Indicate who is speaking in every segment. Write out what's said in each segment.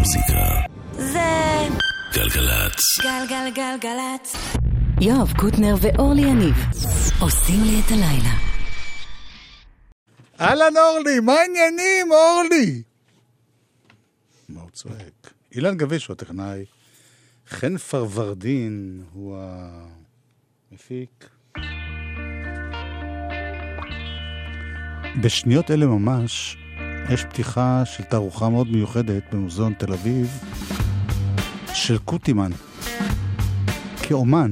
Speaker 1: המוזיקה
Speaker 2: זה
Speaker 1: גלגלצ.
Speaker 2: גלגלגלגלצ. יואב קוטנר ואורלי יניב עושים לי את הלילה.
Speaker 3: אהלן אורלי, מה העניינים אורלי? מה הוא צועק? אילן גביש הוא הטכנאי, חן פרוורדין הוא המפיק. בשניות אלה ממש יש פתיחה של תערוכה מאוד מיוחדת במוזיאון תל אביב של קוטימן כאומן.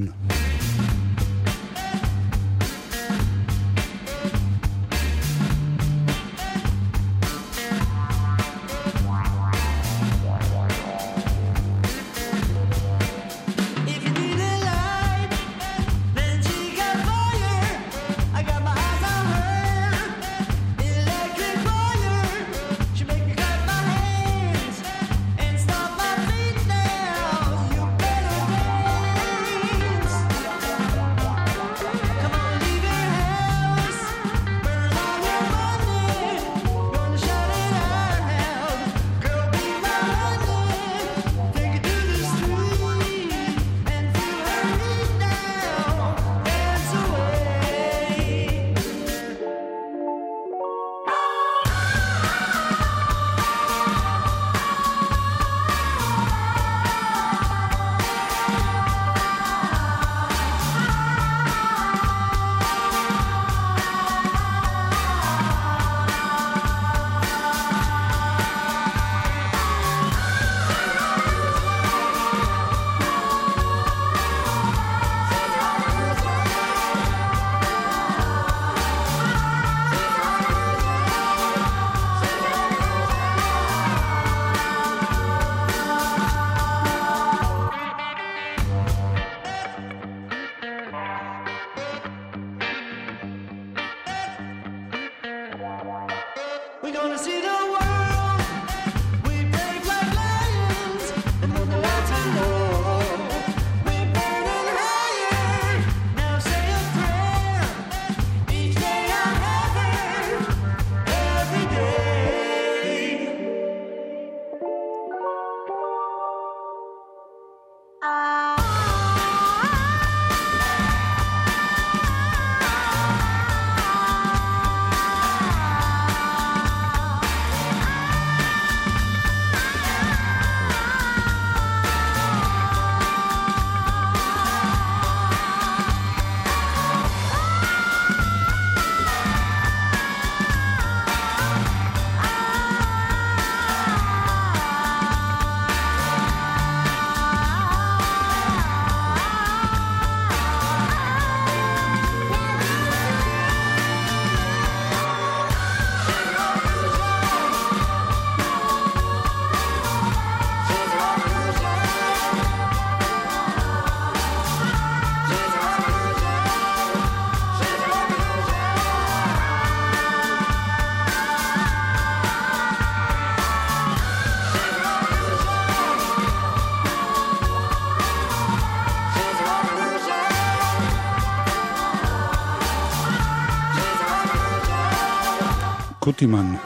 Speaker 3: קוטימן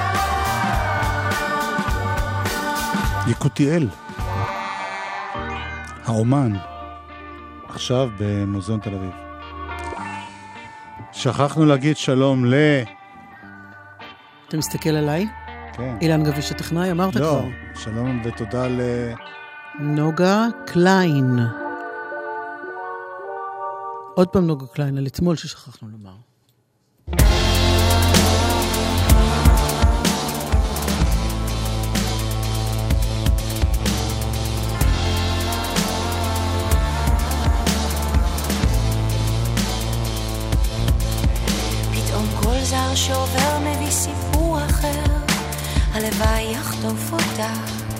Speaker 3: יקותיאל האומן עכשיו במוזיאון תל אביב. שכחנו להגיד שלום
Speaker 4: אתה מסתכל עליי?
Speaker 3: כן.
Speaker 4: אילן גביש הטכנאי, אמרת
Speaker 3: לא,
Speaker 4: כבר.
Speaker 3: שלום ותודה
Speaker 4: נוגה קליין. עוד פעם נוגה קליין, על אתמול ששכחנו לומר.
Speaker 2: זר שעובר מביא סיפור אחר, הלוואי יחטוף אותה.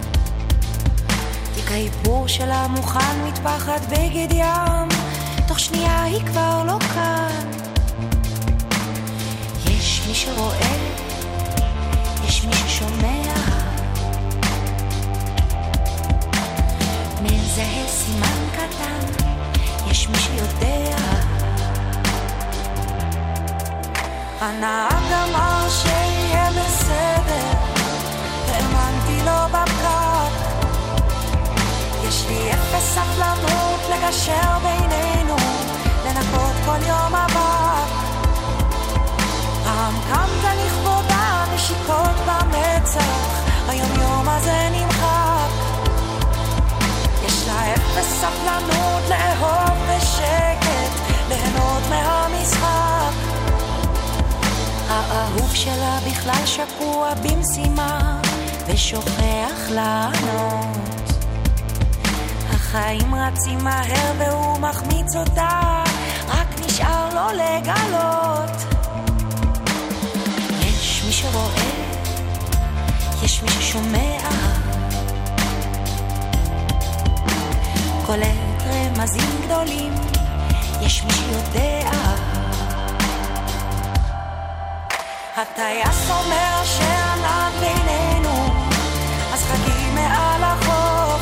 Speaker 2: תיק האיפור שלה מוכן מטפחת בגד ים, תוך שנייה היא כבר לא כאן. יש מי שרואה, יש מי ששומע, מזהה סימן קטן, יש מי שיודע. הנהג אמר שיהיה בסדר, האמנתי לו בפקק, לי אפס סבלנות לגשר בינינו, לנקות כל יום הבא. פעם קמת לכבודה נשיקות במצח, היום יום הזה נמחק. יש לה אפס סבלנות לאהוב בשקט, ליהנות מהמשחק. האהוב שלה בכלל שקוע במשימה ושוכח לענות. החיים רצים מהר והוא מחמיץ אותה, רק נשאר לו לגלות. יש מי שרואה, יש מי ששומע, קולט רמזים גדולים, יש מי שיודע. הטייס אומר שענן בינינו, אז חגי מעל החוף.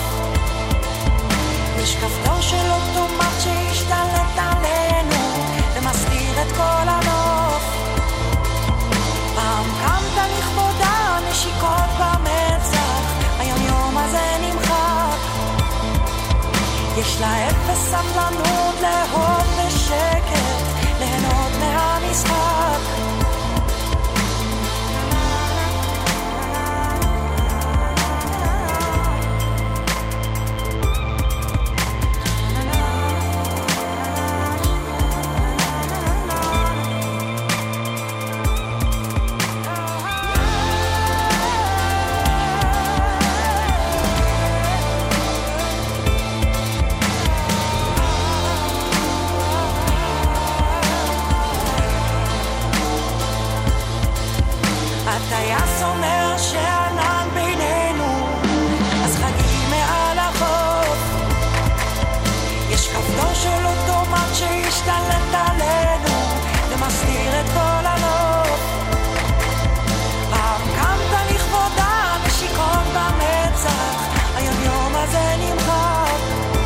Speaker 2: יש כפתור של אוטומט שהשתלט עלינו ומסתיר את כל הנוף. פעם קמת לכבודה נשיקות במצח, היום יום הזה נמחק. יש לה אפס סבלנות לאהוב בשקט, ליהנות מהמשחק. הטייס אומר שענן בינינו, אז חגי מעל החוף. יש כפתור של אוטומט שהשתלט עלינו ומסתיר את כל הנוף. פעם קמת לכבודה נשיקות במצח, היום יום הזה נמחק.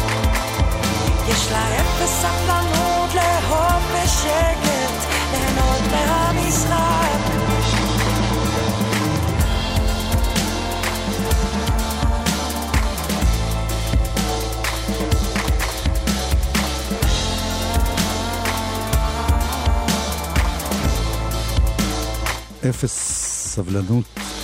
Speaker 2: יש לה אפס סבלנות לאהוב בשקט, ליהנות מהמשחק.
Speaker 3: אפס סבלנות.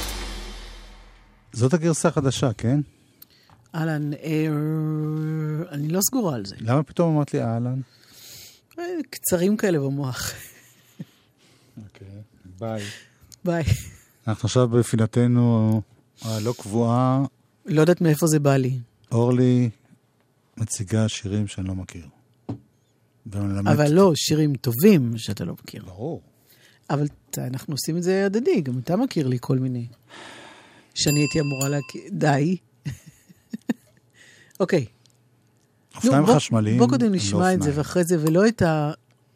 Speaker 3: זאת הגרסה החדשה, כן?
Speaker 4: אהלן, אני לא סגורה על זה.
Speaker 3: למה פתאום אמרת לי אהלן?
Speaker 4: קצרים כאלה במוח.
Speaker 3: אוקיי, ביי.
Speaker 4: ביי.
Speaker 3: אנחנו עכשיו בפינתנו הלא קבועה.
Speaker 4: לא יודעת מאיפה זה בא לי.
Speaker 3: אורלי מציגה שירים שאני לא מכיר.
Speaker 4: אבל לא, שירים טובים שאתה לא מכיר.
Speaker 3: ברור.
Speaker 4: אבל אנחנו עושים את זה הדדי, גם אתה מכיר לי כל מיני. שאני הייתי אמורה להכיר, די. אוקיי.
Speaker 3: אופניים חשמליים.
Speaker 4: בוא קודם נשמע את זה, ואחרי זה, ולא את ה...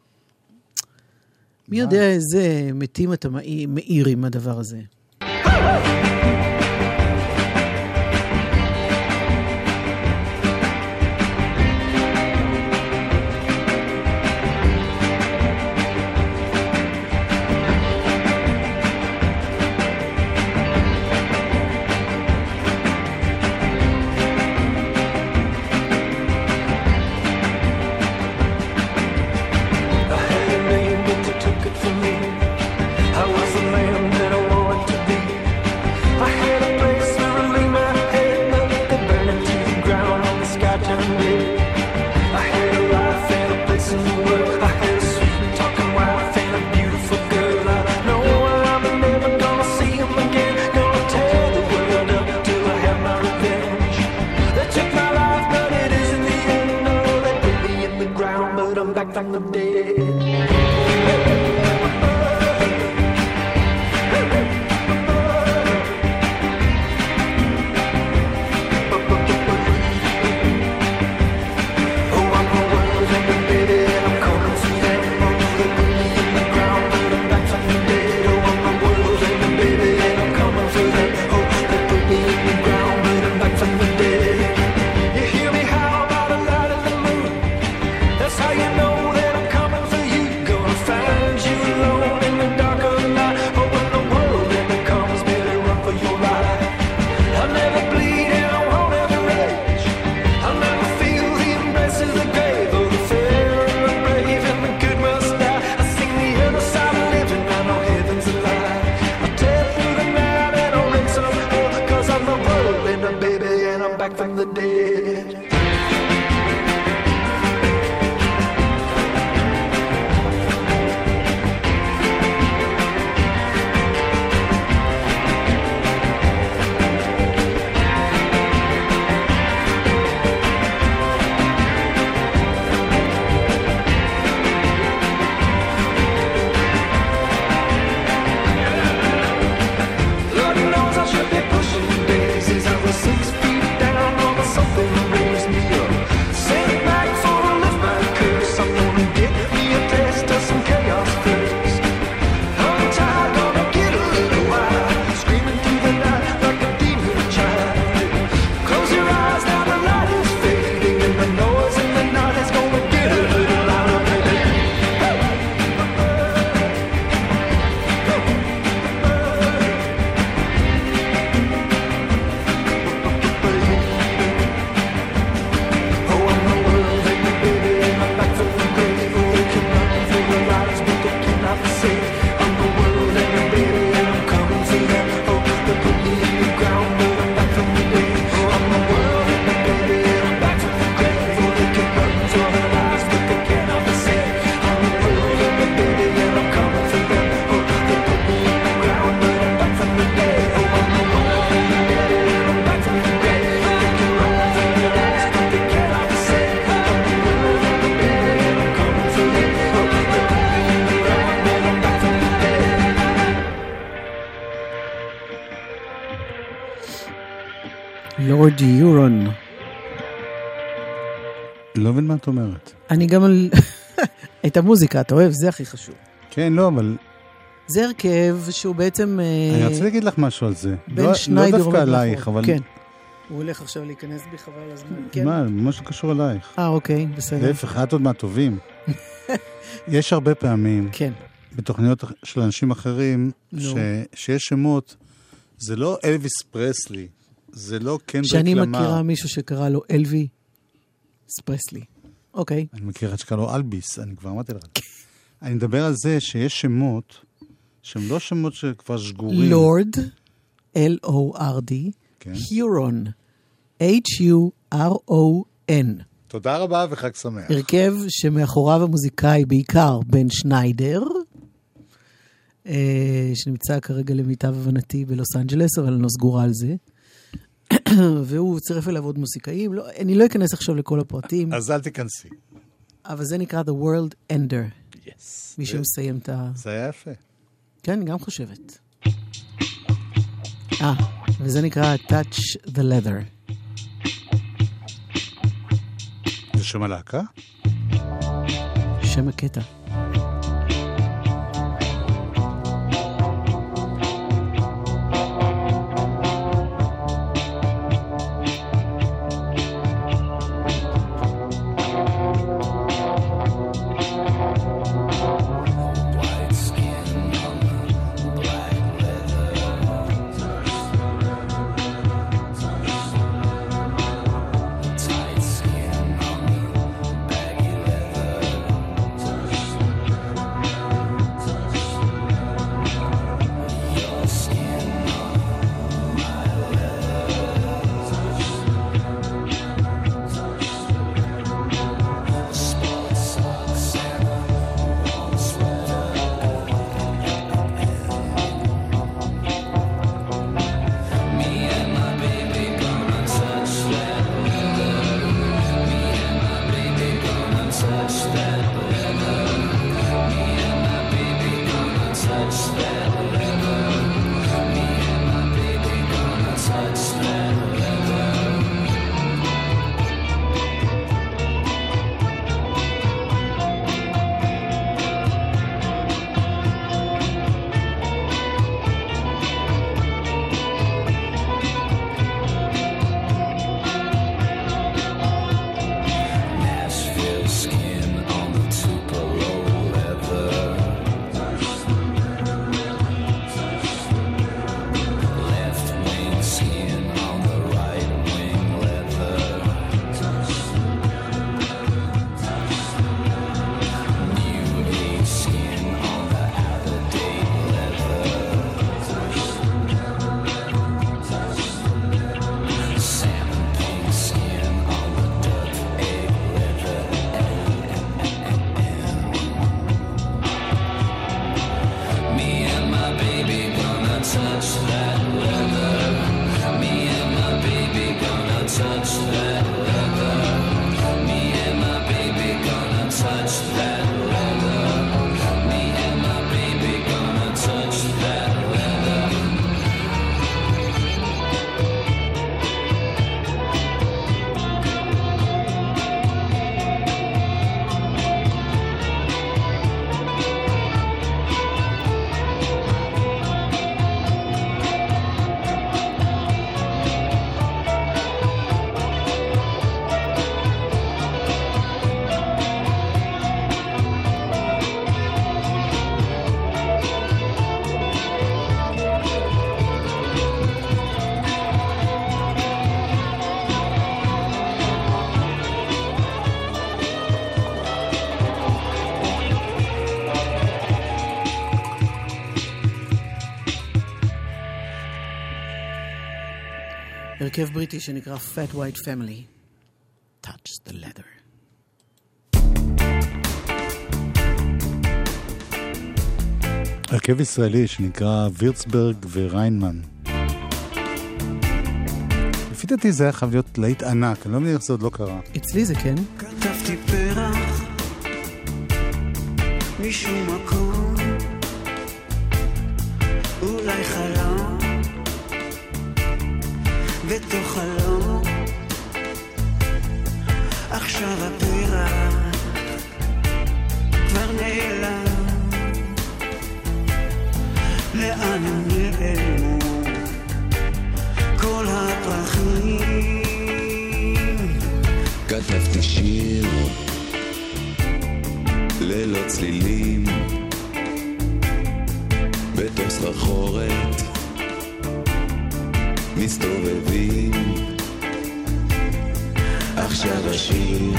Speaker 4: מי יודע איזה מתים אתה מאיר עם הדבר הזה.
Speaker 1: I was the man that I wanted to be.
Speaker 4: לורד יורון.
Speaker 3: לא מבין מה את אומרת.
Speaker 4: אני גם על... את המוזיקה, אתה אוהב? זה הכי חשוב.
Speaker 3: כן, לא, אבל...
Speaker 4: זה הרכב שהוא בעצם...
Speaker 3: אני רוצה להגיד לך משהו על זה.
Speaker 4: בן שניידר.
Speaker 3: לא דווקא עלייך, אבל...
Speaker 4: כן. הוא הולך עכשיו להיכנס בי חבל הזמן. כן.
Speaker 3: מה, ממש לא קשור עלייך.
Speaker 4: אוקיי, בסדר.
Speaker 3: להפך, את עוד מהטובים. יש הרבה פעמים,
Speaker 4: כן.
Speaker 3: בתוכניות של אנשים אחרים, שיש שמות, זה לא אלוויס פרסלי, זה לא קנדריק למר.
Speaker 4: שאני מכירה מישהו שקרא לו אלווי פרסלי. אוקיי.
Speaker 3: אני מכיר את שקרא לו אלביס, אני כבר אמרתי לך. אני מדבר על זה שיש שמות, שהם לא שמות שכבר שגורים.
Speaker 4: לורד, L-O-R-D, היורון, H-U-R-O-N.
Speaker 3: תודה רבה וחג שמח.
Speaker 4: הרכב שמאחוריו המוזיקאי בעיקר בן שניידר, שנמצא כרגע למיטב הבנתי בלוס אנג'לס, אבל אני לא סגורה על זה. והוא צירף אליו עוד מוזיקאים. לא, אני לא אכנס עכשיו לכל הפרטים.
Speaker 3: אז אל תיכנסי.
Speaker 4: אבל זה נקרא The World Ender.
Speaker 3: Yes.
Speaker 4: מי שמסיים את ה...
Speaker 3: זה היה יפה.
Speaker 4: כן, אני גם חושבת. וזה נקרא Touch the Leather.
Speaker 3: זה שם הלהקה?
Speaker 4: שם הקטע. הרכב בריטי שנקרא Fat White Family. Touch the Leather.
Speaker 3: הרכב ישראלי שנקרא וירצברג וריינמן. לפי דעתי זה היה חייב להיות להיט ענק, אני לא מבין איך זה עוד לא קרה.
Speaker 4: אצלי זה כן.
Speaker 1: כתבתי פרח משום מקום, אולי חלום, בתוך חלום, עכשיו הפרח כבר נעלם, לאן הם נעלמו כל הפרחים.
Speaker 5: כתבתי שיר ללא צלילים בתוך סחרחורת מסתובבים, עכשיו השיר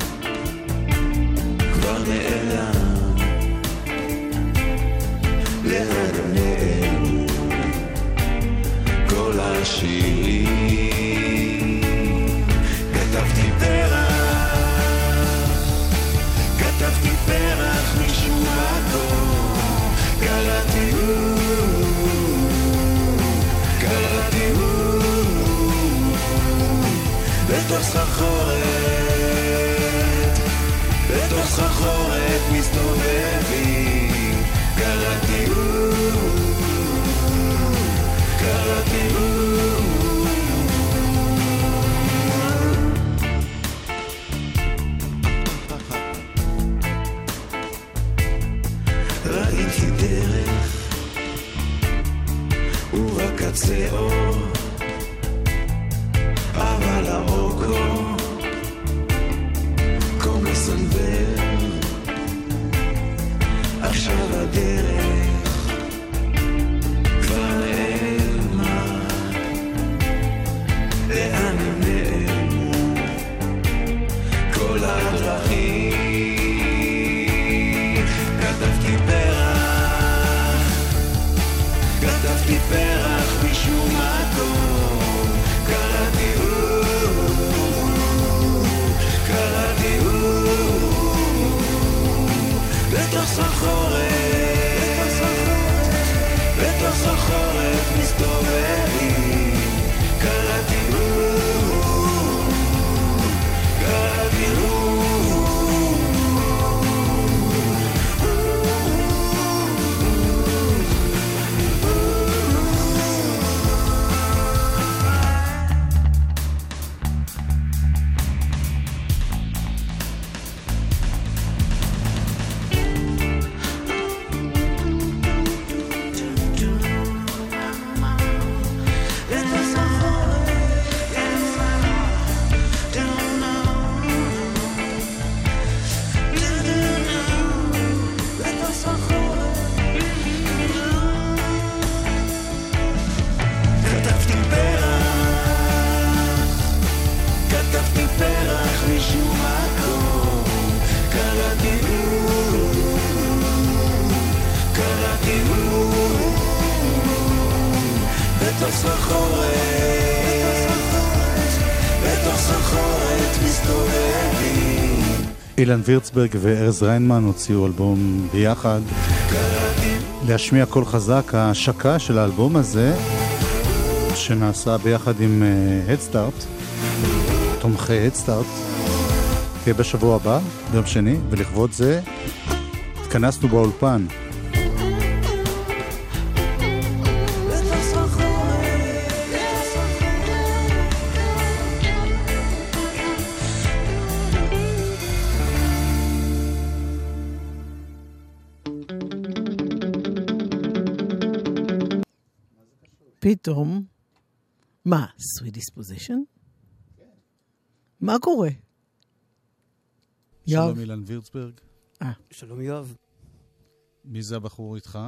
Speaker 5: כבר נעלם, לאן הם נעלמו כל השירים. כתבתי פרח משום מקום, קראתי בתוך סחרחורת מסתובבים, קראתי ראיתי דרך ורק קצה אור, אבל האור כה מסנוור, עכשיו הדרך כבר נעלמה, לאן הם נעלמו כל הדרכים. כתבתי פרח משום מקום, קראתי בתוך סחרחורת מסתובבים, קראתי
Speaker 3: אילן וירצברג וארז ריינמן הוציאו אלבום ביחד, להשמיע קול חזק. ההשקה של האלבום הזה שנעשה ביחד עם Headstart, תומכי Headstart, תהיה בשבוע הבא, ביום שני, ולכבוד זה התכנסנו באולפן.
Speaker 4: פתאום, מה, sweet disposition? מה קורה?
Speaker 3: שלום אילן וירצברג.
Speaker 6: שלום יואב.
Speaker 3: מי זה הבחור איתך?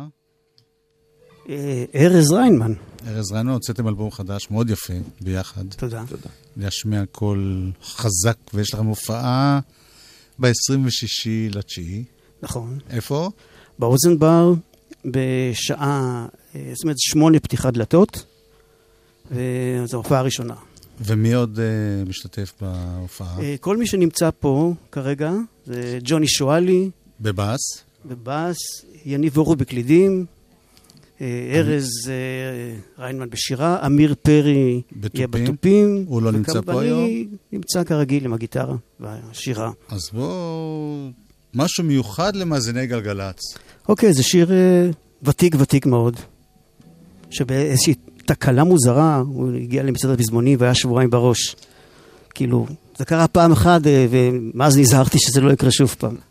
Speaker 6: ארז ריינמן.
Speaker 3: ארז ריינמן, הוצאתם אלבום חדש מאוד יפה ביחד.
Speaker 6: תודה.
Speaker 3: להשמיע קול חזק, ויש לכם הופעה ב-26/9.
Speaker 6: נכון.
Speaker 3: איפה?
Speaker 6: באוזנבר, בשעה, זאת אומרת 8 פתיחת דלתות, וזו ההופעה הראשונה.
Speaker 3: ומי עוד משתתף בהופעה?
Speaker 6: כל מי שנמצא פה כרגע, זה ג'וני שואלי.
Speaker 3: בבאס?
Speaker 6: בבאס, יניב אורו בקלידים, ארז ריינמן בשירה, אמיר פרי יהיה בטופים.
Speaker 3: הוא לא נמצא פה היום?
Speaker 6: אני נמצא כרגיל עם הגיטרה והשירה.
Speaker 3: אז בואו, משהו מיוחד למאזיני גלגלץ.
Speaker 6: אוקיי, זה שיר ותיק מאוד, שבאיזושהי תקלה מוזרה, הוא הגיע למצעד הפזמונים והיה שבועיים בראש. כאילו, זה קרה פעם אחת, ומאז נזהרתי שזה לא יקרה שוב פעם.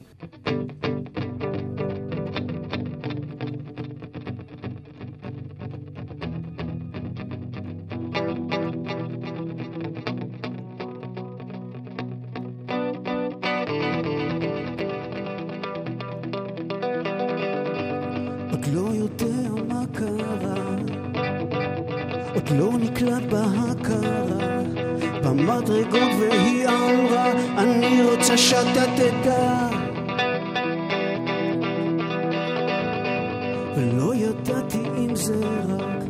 Speaker 1: עוד לא יודע מה קרה, עוד לא נקלט בהכרה במדרגות, והיא אמרה אני רוצה שאתה תדע, ולא ידעתי אם זה רק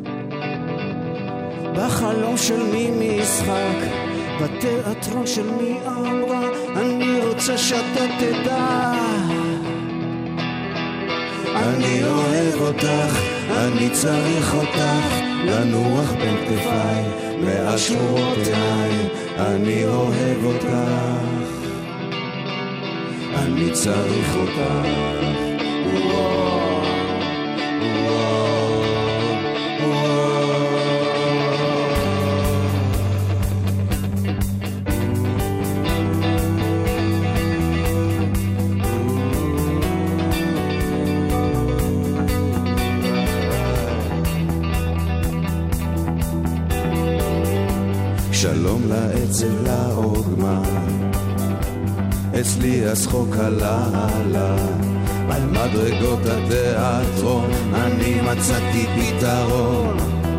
Speaker 1: בחלום של מי משחק, בתיאטרון של מי אמרה אני רוצה שאתה תדע, אני אוהב אותך, אני צריך אותך, לנוח בין כתפיי, מעל שמורות עיניי, אני אוהב אותך, אני צריך אותך, שלום לעצב לעוגמה, אצלי השחוק הלהלה, על מדרגות התיאטרון אני מצאתי פתרון,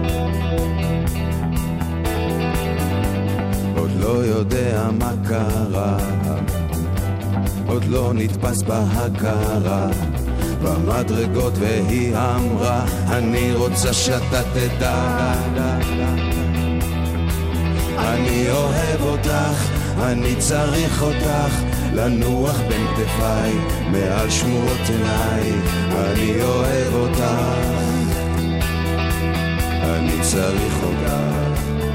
Speaker 1: עוד לא יודע מה קרה, עוד לא נתפס בהכרה במדרגות, והיא אמרה אני רוצה שאתה תדע, אני אוהב אותך, אני צריך אותך, לנוח בין כתפיי, מעל שמורות עיניי, אני אוהב אותך, אני צריך אותך,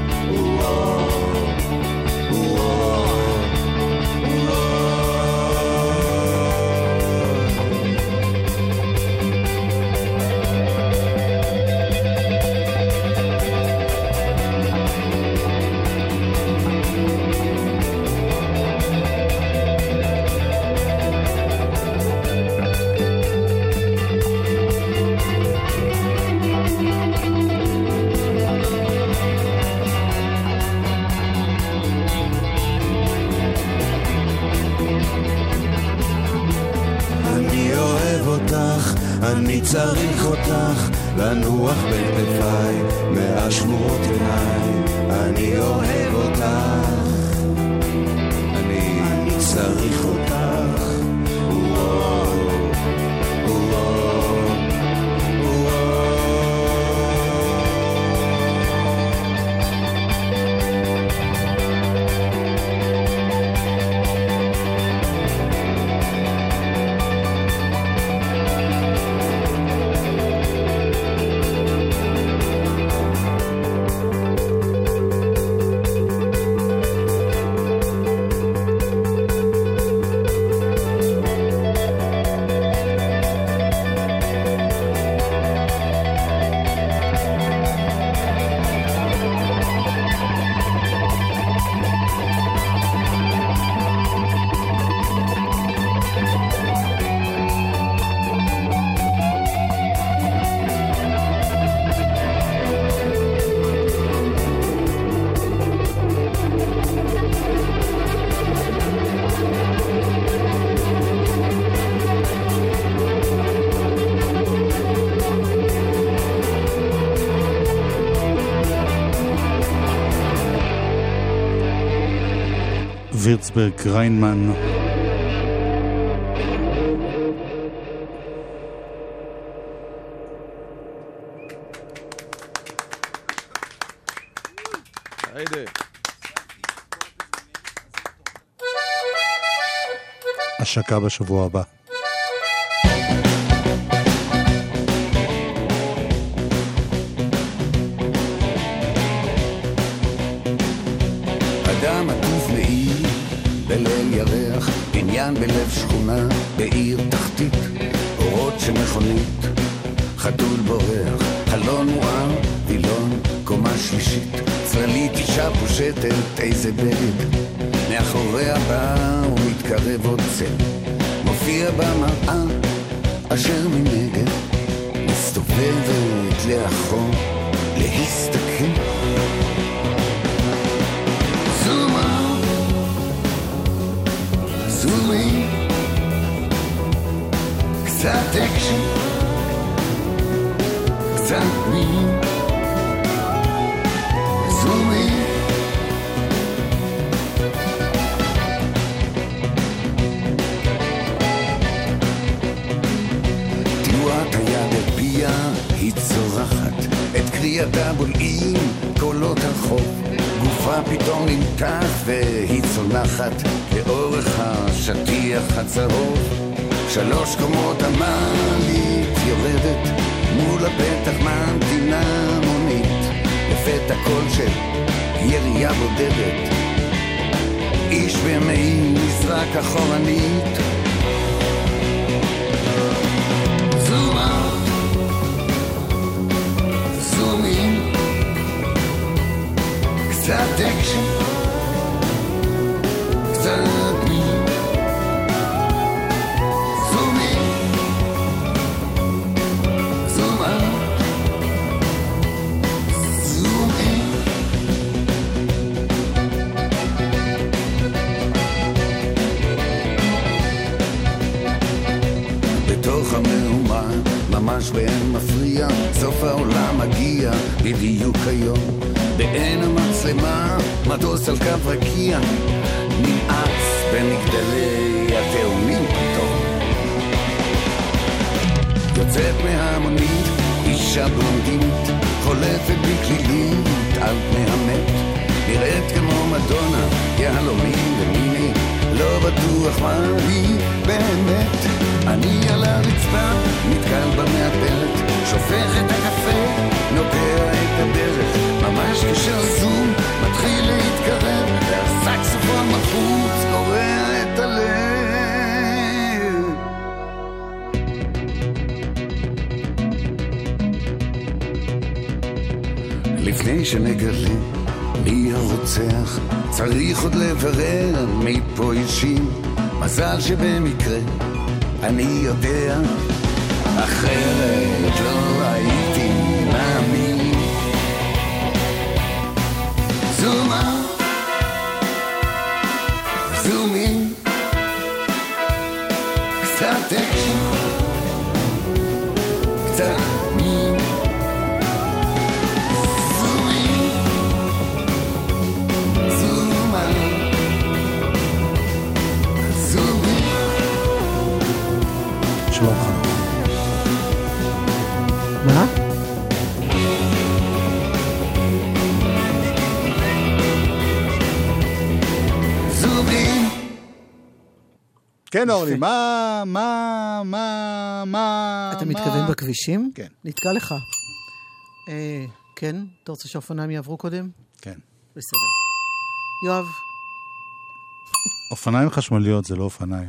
Speaker 1: אני צריך אותך, לנוח בין כתפיי, מעל שמורות עיניי, אני אוהב אותך, אני צריך אותך,
Speaker 3: וירצברג ריינמן. השקה בשבוע הבא.
Speaker 7: אדם עטוף לעיר בליל ירח, בניין בלב שכונה בעיר תחתית, אורות של מכונית, חתול בורח, חלון מואר, וילון, קומה שלישית, צללית אישה פושטת, איזה בגד, מאחוריה בא ומתקרב עוד צל, מופיע במראה, אשר מנגד, מסתובבת לאחור, להסתכל. זום אאוט, זום אין, קצת אקשן, קצת מין, זום אין. תנועת היד הפיה היא צורחת, את קריאתה בולעים קולות הרחוב, גופה פתאום נמתח והיא צונחת לאורך השטיח הצהוב. 3 קומות המעלית יורדת, מול הפתח ממתינה מונית, לפתע קול של ירייה בודדת, איש במעיל נזרק אחורנית. זום אאוט, זום אין, קצת אקשן, קצת מין, זום אין, זום אאוט, זום אין. בתוך המהומה, ממש באין מפריע, סוף העולם מגיע בדיוק היום. בעין המצלמה, מטוס על קו רקיע, נמאס במגדלי התאומים פתאום. יוצאת מהמונית, אישה בלונדינית, חולפת בכלילית על פני המת, נראית כמו מדונה, יהלומים ומיני, לא בטוח מה היא באמת. אני על הרצפה, נתקל במעפלת, שופך את הקפה, נוגע את הדרך, ממש כשהזום מתחיל להתקרב, והסקסופון מחוץ קורע את הלב. לפני שנגלה מי הרוצח, צריך עוד לברר מי פה אישים, מזל שבמקרה אני יודע, אחרת לא הייתי מאמין. זום אאוט, זום אין, קצת אקשן, קצת מין, זום אין, זום אאוט, זום אין.
Speaker 3: שלומך.
Speaker 4: מה?
Speaker 7: זומים.
Speaker 3: כן, אורלי, מה...
Speaker 4: אתה מתכוון בכבישים?
Speaker 3: כן.
Speaker 4: נתקע לך. כן? אתה רוצה שהאופניים יעברו קודם?
Speaker 3: כן.
Speaker 4: בסדר. יואב.
Speaker 3: אופניים חשמליות זה לא אופניים.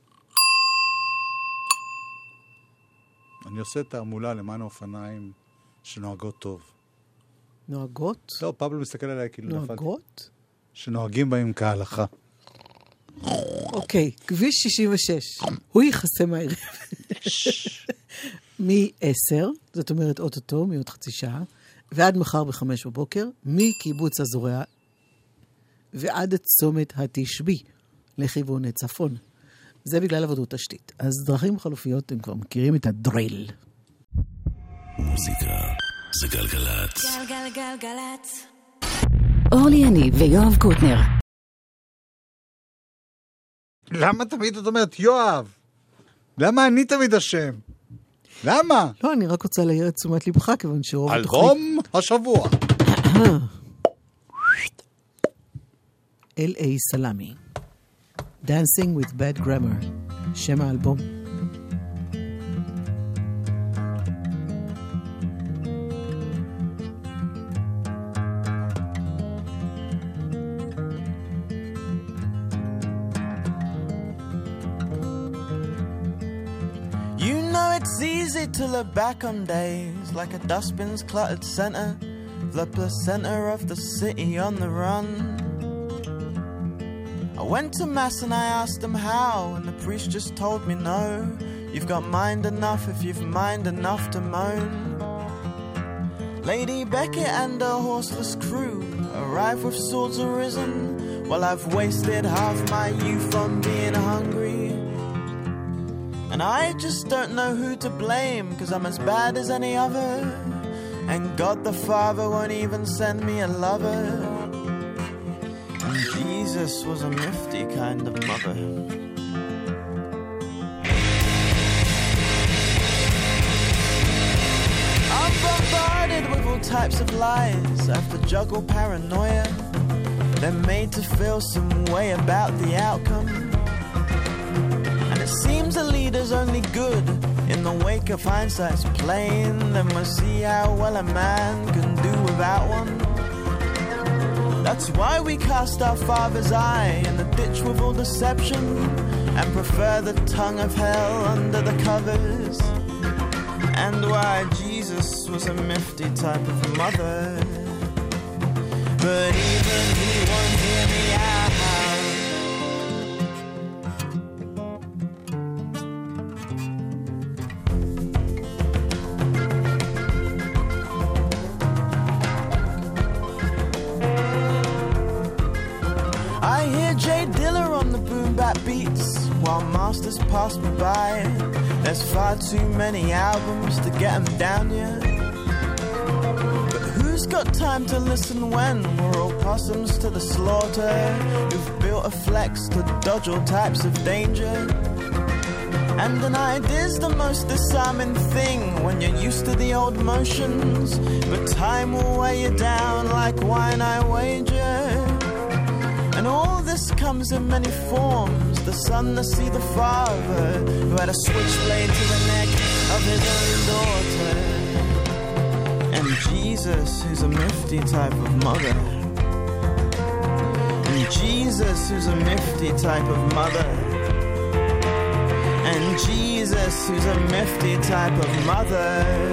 Speaker 3: אני עושה תעמולה למען האופניים שנוהגות טוב.
Speaker 4: נוהגות?
Speaker 3: לא, פבלו מסתכל עליי כאילו נפלתי.
Speaker 4: נוהגות?
Speaker 3: שנוהגים בהם כהלכה.
Speaker 4: אוקיי, כביש 66. הוא יכסה מהערב. מ-10, זאת אומרת אוטוטו, מעוד חצי שעה, ועד מחר ב-5 בבוקר, מקיבוץ הזורע ועד צומת התשבי, לכיוון צפון. זה בגלל עבודות תשתית. אז דרכים חלופיות, הם כבר מכירים את הדריל.
Speaker 8: מוזיקה זה גלגלת.
Speaker 2: גלגלגלגלצ.
Speaker 9: אורלי יניב ויואב קוטנר.
Speaker 3: למה תמיד את אומרת יואב? למה אני תמיד אשם? למה?
Speaker 4: לא, אני רק רוצה להעיר את תשומת לבך, כיוון שרוב התוכנית...
Speaker 3: אלבום השבוע.
Speaker 4: L.A. סלמי. Dancing with Bad Grammar. שם האלבום.
Speaker 5: You know
Speaker 10: it's easy to look back on days like a dustbin's cluttered center, the placenta of the city on the run. I went to mass and I asked them how, and the priest just told me no. You've got mind enough if you've mind enough to moan. Lady Beckett and her horseless crew arrive with swords arisen, while I've wasted half my youth on being hungry. And I just don't know who to blame, 'cause I'm as bad as any other, and God the Father won't even send me a lover. And Jesus was a mufti kind of mother. I'm bombarded with all types of lies. I have to juggle paranoia. They're made to feel some way about the outcome. And it seems a leader's only good in the wake of hindsight's plain. Then we'll see how well a man can do without one. That's why we cast our father's eye in the ditch with all deception, and prefer the tongue of hell under the covers. And why Jesus was a mufti type of mother, but even he won't hear me out. I hear Jay Diller on the boom bap beats while masters pass me by. There's far too many albums to get them down yet. But who's got time to listen when we're all possums to the slaughter, who've built a flex to dodge all types of danger? And an idea's the most disarming thing when you're used to the old motions, but time will weigh you down like wine, I wager. And all this comes in many forms. The son to see the father who had a switchblade to the neck of his own daughter. And Jesus, who's a mufti type of mother. And Jesus, who's a mufti type of mother. And Jesus, who's a mufti type of mother.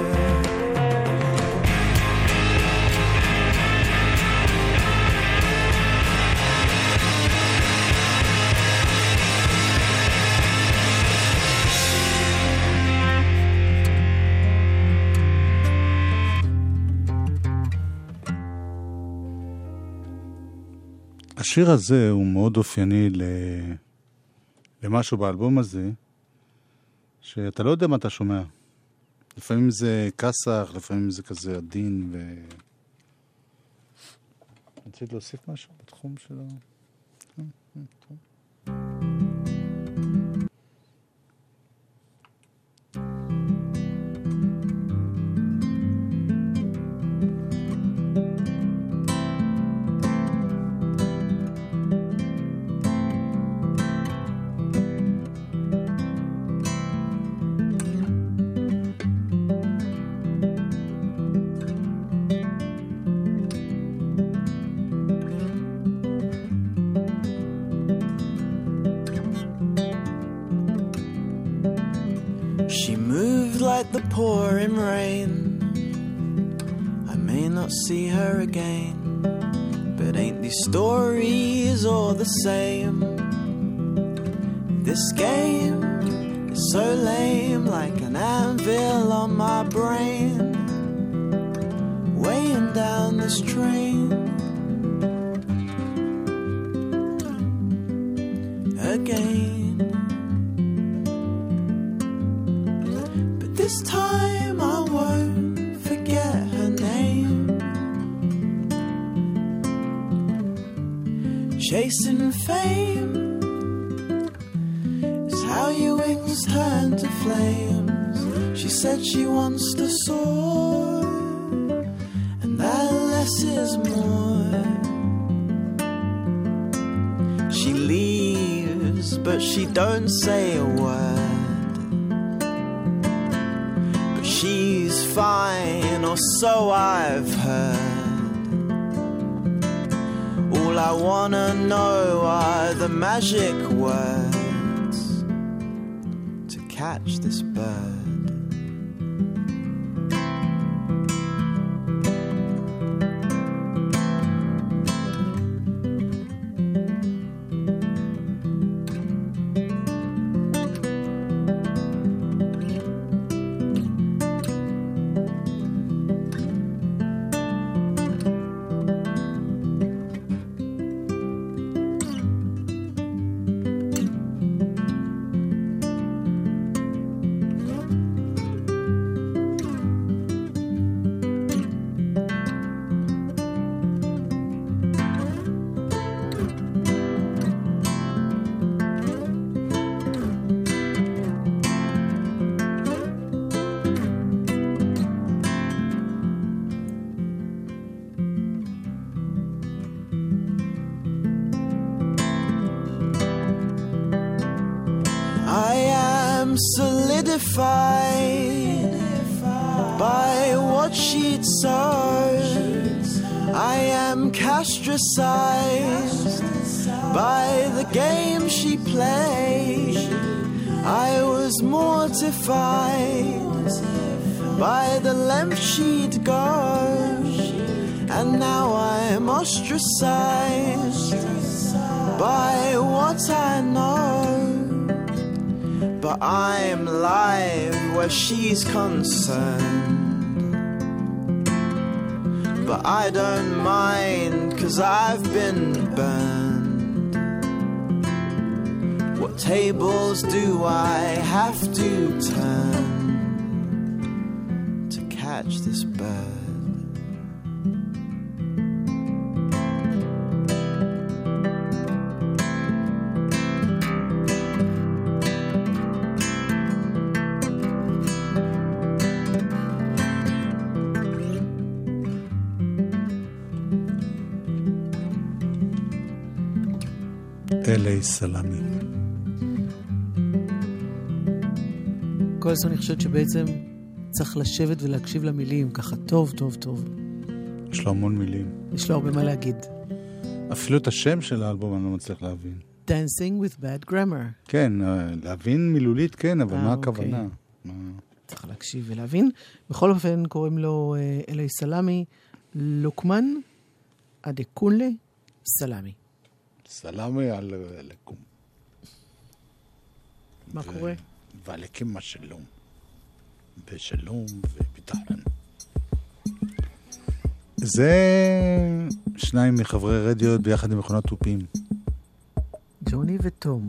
Speaker 3: השיר הזה הוא מאוד אופייני למשהו באלבום הזה, שאתה לא יודע מה אתה שומע. לפעמים זה כסח, לפעמים זה כזה עדין, רצית להוסיף משהו בתחום של ה...
Speaker 10: The pouring rain, I may not see her again, but ain't these stories all the same? This game is so lame, like an anvil on my brain, weighing down this train. Again. This time I won't forget her name. Chasing fame is how your wings turn to flames. She said she wants to soar, and that less is more. She leaves, but she don't say a word. She's fine, or so I've heard. All I wanna know are the magic words to catch this bird. solidified by what she'd sowed. I am castricized by the game she played. I was mortified by the length she'd go, and now I'm ostracized by what I know. But I'm live where she's concerned, but I don't mind 'cause I've been burned. What tables do I have to turn to catch this bird?
Speaker 3: אלי סלמי.
Speaker 4: כל הזמן אני חושבת שבעצם צריך לשבת ולהקשיב למילים ככה טוב, טוב, טוב.
Speaker 3: יש לו המון מילים.
Speaker 4: יש לו הרבה מה להגיד.
Speaker 3: אפילו את השם של האלבום אני לא מצליח להבין.
Speaker 4: Dancing with bad grammar.
Speaker 3: כן, להבין מילולית כן, אבל מה הכוונה?
Speaker 4: צריך להקשיב ולהבין. בכל אופן קוראים לו אלי סלמי, לוקמן אדקונלה סלמי.
Speaker 3: סלמי על לקום.
Speaker 4: מה קורה?
Speaker 3: ועליכם השלום. בשלום וביטחון. זה שניים מחברי רדיו ביחד עם מכונת תופים.
Speaker 4: ג'וני וטום.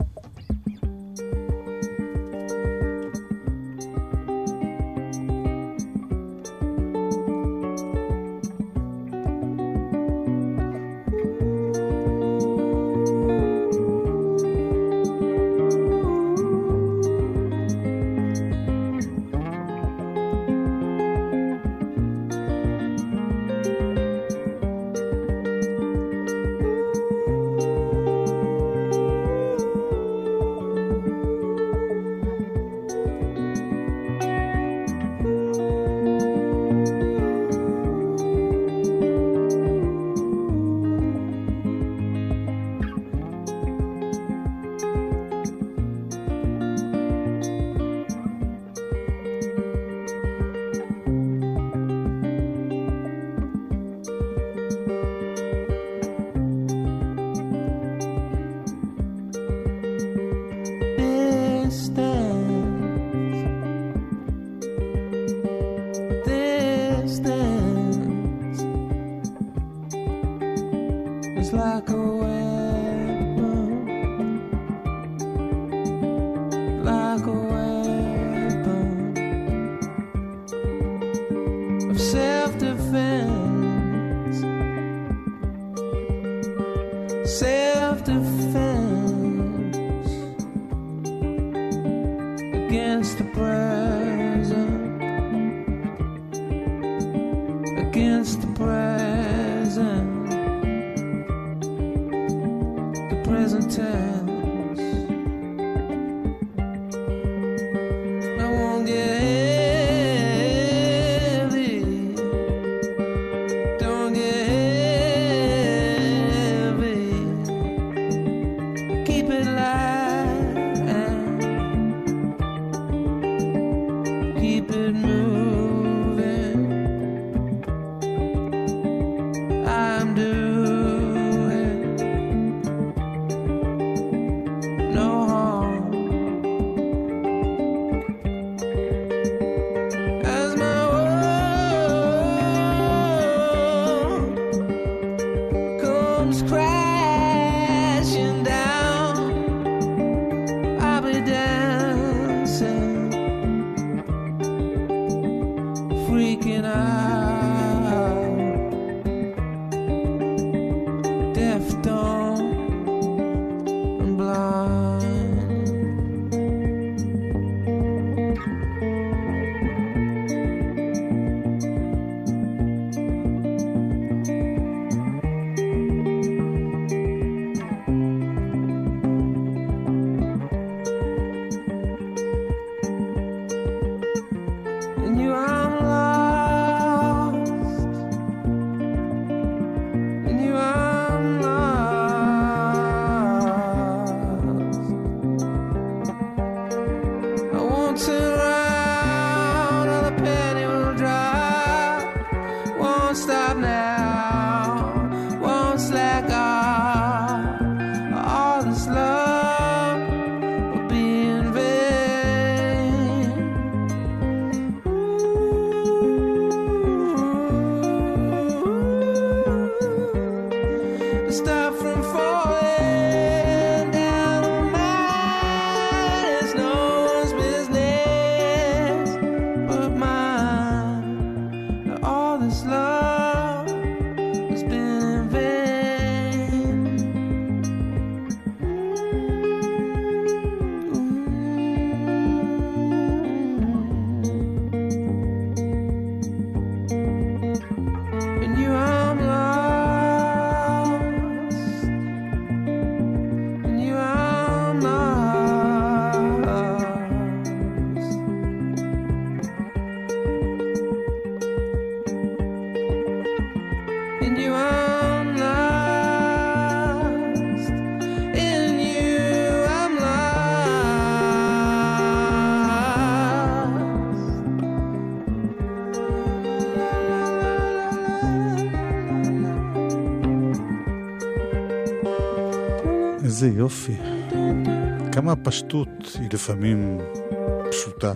Speaker 3: איזה יופי. כמה הפשטות היא לפעמים פשוטה.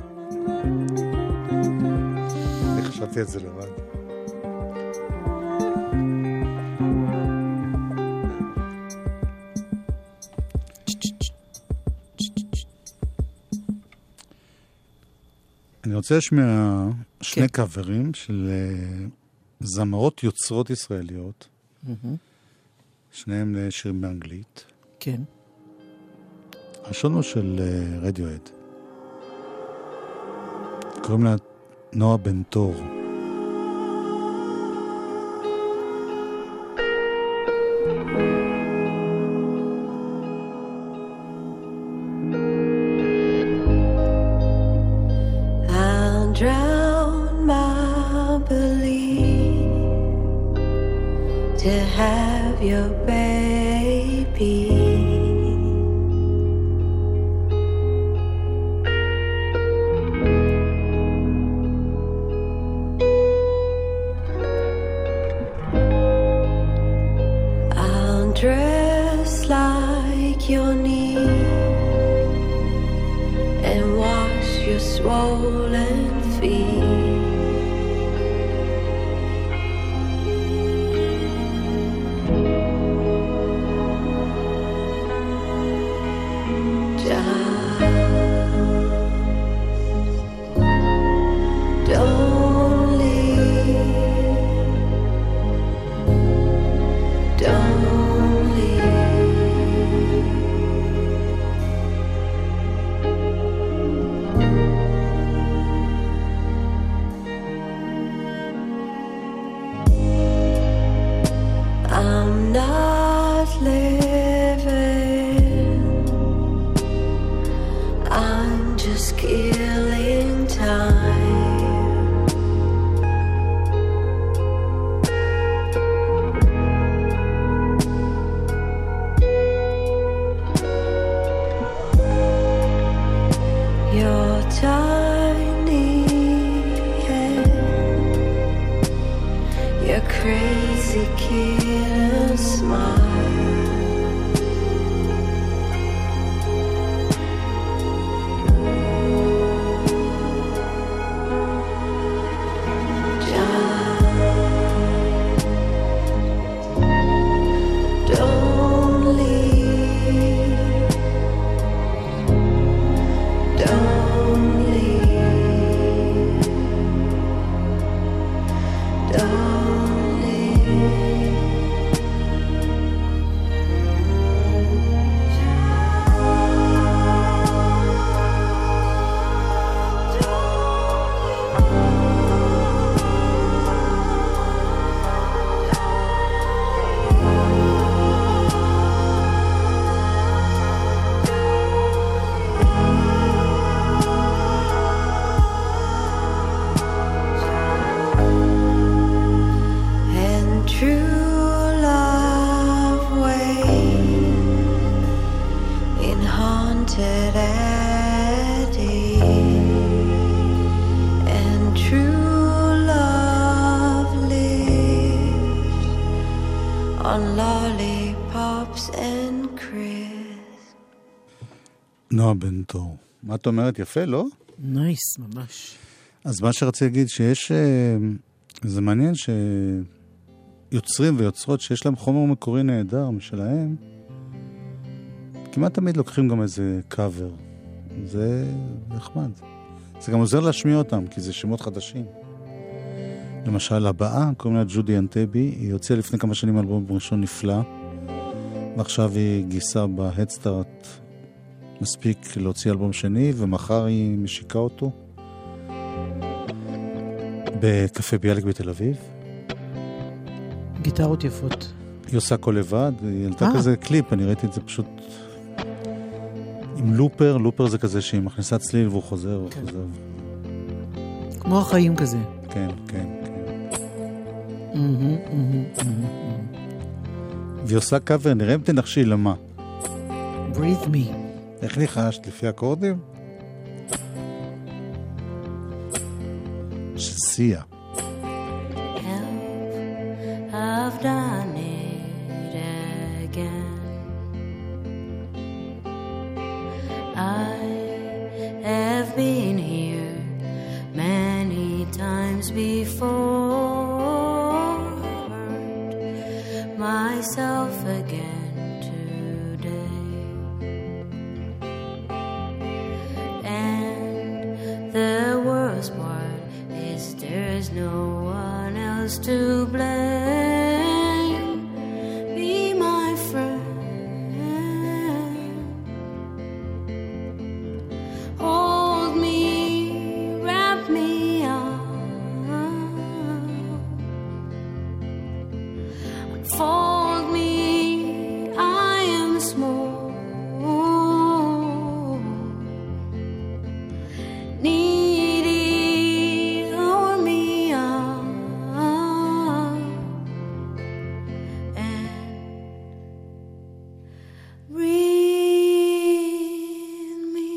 Speaker 3: אני חשבתי את זה לבד. אני רוצה לשמוע שני קאברים של זמרות יוצרות ישראליות. שניהם לשירים באנגלית.
Speaker 4: כן.
Speaker 3: הראשון הוא של רדיואד. קוראים לה נועה בן תור.
Speaker 2: Drown my belief to have your baby. I'll dress like your need and wash your swollen feet. Don't leave. Don't leave. I'm not living, I'm just killing time. Your tiny head, your crazy killer smile. Don't leave. Don't leave. Don't leave. And true love waits in haunted alley, and true love lives on lollipops and crisps.
Speaker 3: נועה בן תור. מה את אומרת? יפה, לא?
Speaker 4: נייס, ממש.
Speaker 3: אז מה שרציתי להגיד שיש... זה מעניין שיוצרים ויוצרות שיש להם חומר מקורי נהדר משלהם, כמעט תמיד לוקחים גם איזה קאבר. זה נחמד. זה גם עוזר להשמיע אותם, כי זה שמות חדשים. למשל, הבאה, קוראים לה ג'ודי אנטבי, היא הוציאה לפני כמה שנים אלבום ראשון נפלא, ועכשיו היא גיסה בהדסטארט מספיק להוציא אלבום שני, ומחר היא משיקה אותו בקפה ביאליק בתל אביב.
Speaker 4: גיטרות יפות.
Speaker 3: היא עושה כל לבד, היא העלתה כזה קליפ, אני ראיתי את זה פשוט עם לופר, לופר זה כזה שהיא מכניסה צליל והוא חוזר וחוזר.
Speaker 4: כמו החיים כזה.
Speaker 3: כן, כן, כן. והיא עושה קאבר, נראה אם תנחשי למה.
Speaker 4: Breathe me.
Speaker 3: איך ניחשת? לפי אקורדים? שסיה.
Speaker 2: I've done it again. been here many times before, hurt myself again today. And the worst part is there's no one else to blame. Be my friend, hold me, wrap me up, unfold me, I am small, needy, lower me up, and breathe me.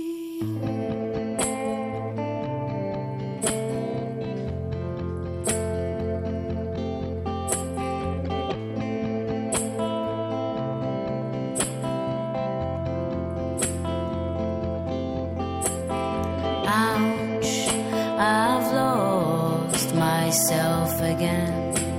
Speaker 2: Ouch, I've lost myself again.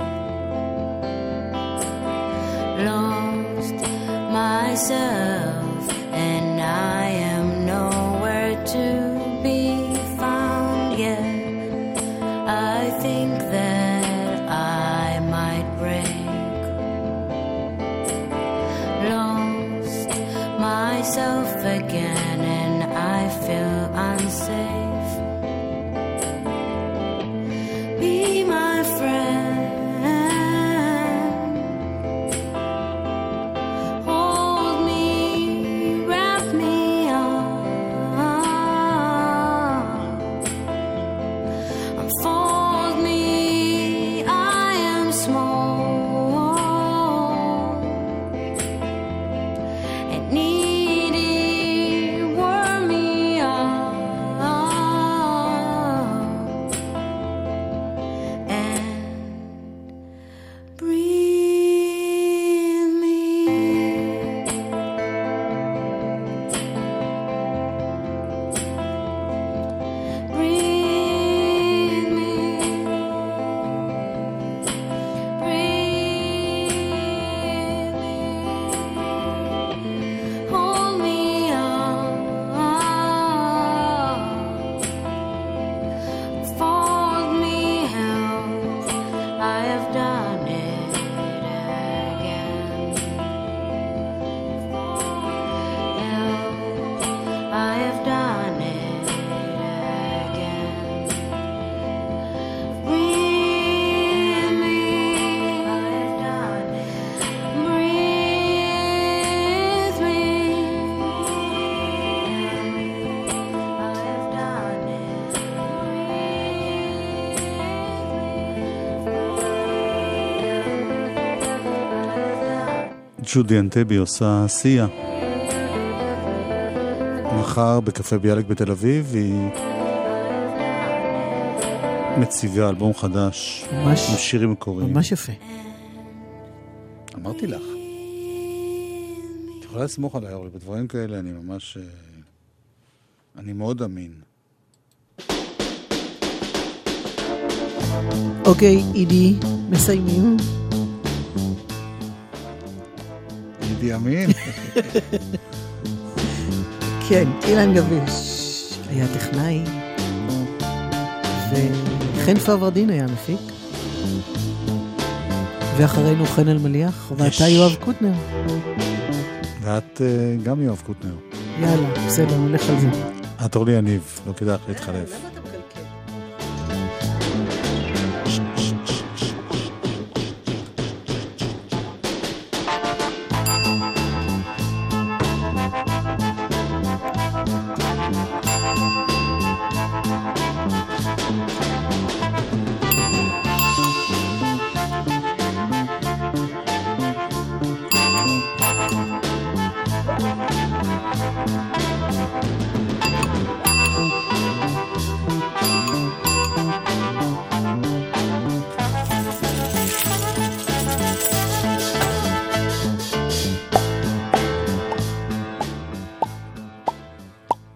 Speaker 2: Lost myself, and I am nowhere to be found yet. I think that I might break. Lost myself again, and I feel unsafe. Be my friend, hold me, wrap me up, unfold me, I am small and needy, warm me up, and breathe me. Breathe me. Breathe me. Hold me up, fold me out. I have done it again. I have done it again. Breathe me. I have done it. Breathe me. I have done it.
Speaker 3: ג'ודי אנטבי עושה סיה. מחר בקפה ביאליק בתל אביב היא מציגה אלבום חדש
Speaker 4: ממש-
Speaker 3: עם שירים מקוריים.
Speaker 4: ממש יפה.
Speaker 3: אמרתי לך. את יכולה לסמוך עליי, אורלי, בדברים כאלה אני ממש... אני מאוד אמין.
Speaker 4: אוקיי, אידי, מסיימים.
Speaker 3: אידי אמין.
Speaker 4: כן, אילן גביש היה טכנאי, וחן פברדין היה מפיק, ואחרינו חן אלמליח, ואתה יואב קוטנר.
Speaker 3: ואת גם יואב קוטנר.
Speaker 4: יאללה, בסדר, נלך על זה.
Speaker 3: את אורלי יניב, לא כדאי לך להתחלף.